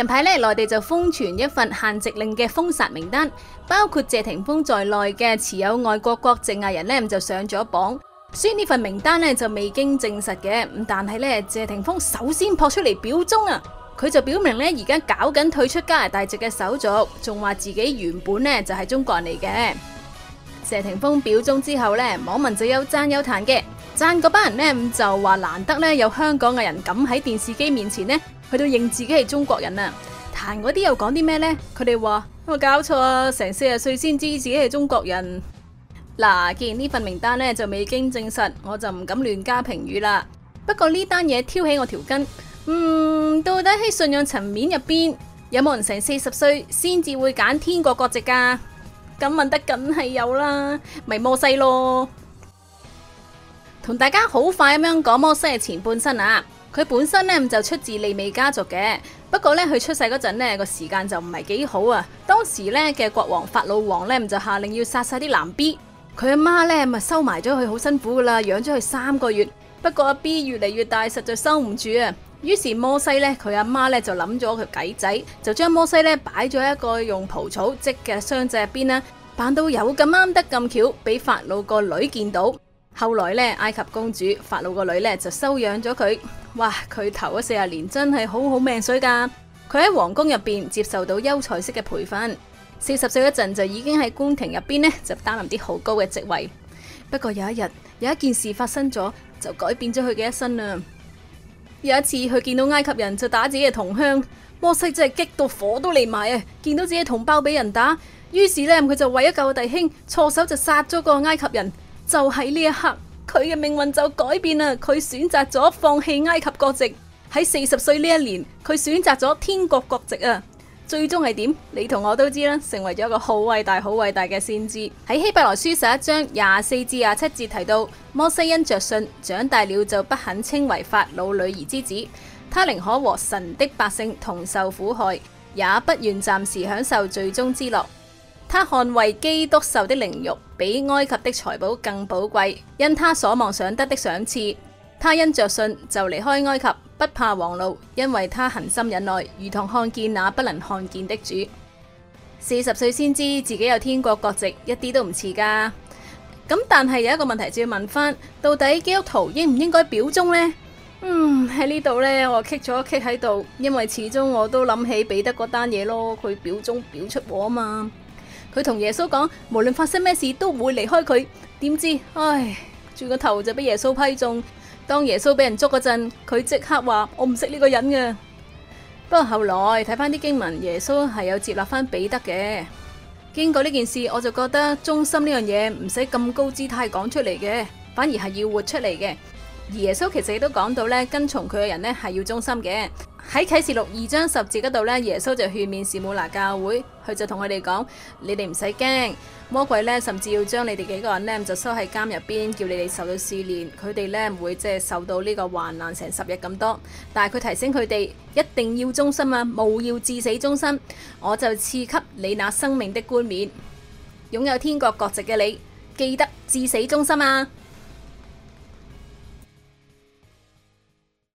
近排咧，內地就瘋傳一份限籍令嘅封殺名單，包括謝霆鋒在內嘅持有外國國籍藝人咧就上咗榜。雖然呢份名單咧就未經證實嘅，但係咧謝霆鋒首先撲出嚟表忠啊！佢就表明咧而家搞緊退出加拿大籍嘅手續，仲話自己原本咧就係中國人嚟嘅。謝霆鋒表忠之後咧，網民就有讚有彈嘅，讚嗰班人咧就話難得咧有香港藝人敢喺電視機面前咧去到認自己係中國人啊！彈嗰啲又講啲咩呢？佢哋話有冇搞錯啊？成40歲先知自己係中國人。嗱，既然呢份名單咧就未經證實，我就唔敢亂加評語啦。不過呢單嘢挑起我條筋，到底喺信仰層面入邊有冇人成40歲先至會揀天國國籍噶？咁問得梗係有啦，咪摩西咯。同大家好快咁樣講摩西嘅前半生啊，佢本身呢就出自利未家族嘅，不過呢，佢出世嗰陣呢個時間就唔係幾好啊。當時呢嘅國王法老王呢就下令要殺晒啲男 B。佢阿媽呢咪收埋咗佢，好辛苦噶啦，養咗佢3個月。不過阿 B 越嚟越大，實在收唔住啊。於是摩西呢，佢阿媽呢就諗咗個計仔，就將摩西呢擺咗一個用蒲草織嘅箱仔入邊啦，扮到有咁啱得咁巧，俾法老個女見到。後來呢，埃及公主法老個女呢就收養咗佢。哇！佢頭嗰40年真係好好命水噶。佢喺皇宮入邊接受到優才式嘅培訓。40歲嗰陣就已經喺宮廷入邊呢，就擔任啲好高嘅職位。不過有一日有一件事發生咗，就改變咗佢嘅一生啦。有一次佢見到埃及人就打自己嘅同鄉，摩西真係激到火都嚟埋啊！見到自己同胞俾人打，於是呢，佢就為咗救弟兄，錯手就殺咗個埃及人。就喺呢一刻，佢嘅命運就改變啦。佢選擇咗放棄埃及國籍，喺40歲呢一年，佢選擇咗天國國籍啊！最終係點？你同我都知啦，成為咗一個好偉大、好偉大嘅先知。喺希伯來書11章24至27節提到，摩西因着信長大了，就不肯稱為法老女兒之子。他寧可和神的百姓同受苦害，也不願暫時享受罪中之樂。他看為基督受的凌辱，比埃及的財寶更寶貴，因他所望想得的賞賜。他因着信就離開埃及，不怕王怒，因為他恒心忍耐，如同看見那不能看見的主。40歲先知自己有天國國籍，一啲都唔遲噶。咁但係有一個問題就要問翻，到底基督徒應唔應該表忠呢？喺呢度呢，我棘咗一棘喺度，因為始終我都諗起彼得嗰單嘢咯，佢表忠表出禍啊嘛。佢同耶穌講，無論發生咩事都唔會離開佢。點知，轉個頭就俾耶穌批中。當耶穌俾人捉嗰陣，佢即刻話我唔識呢個人嘅。不過後來睇翻啲經文，耶穌係有接納翻彼得嘅。經過呢件事，我就覺得忠心呢樣嘢唔使咁高姿態講出嚟嘅，反而係要活出嚟嘅。而耶穌其實亦都講到咧，跟從佢嘅人咧係要忠心嘅。喺啟示錄2章10節嗰度咧，耶穌就勸勉士母拿教會，佢就同佢哋講：你哋唔使驚，魔鬼咧甚至要將你哋幾個人咧就收喺監入邊，叫你哋受到試煉。佢哋咧唔會即係受到呢個患難成10日咁多，但係佢提醒佢哋一定要忠心啊，務要至死忠心。我就賜給你那生命的冠冕。擁有天國國籍嘅你，記得至死忠心啊！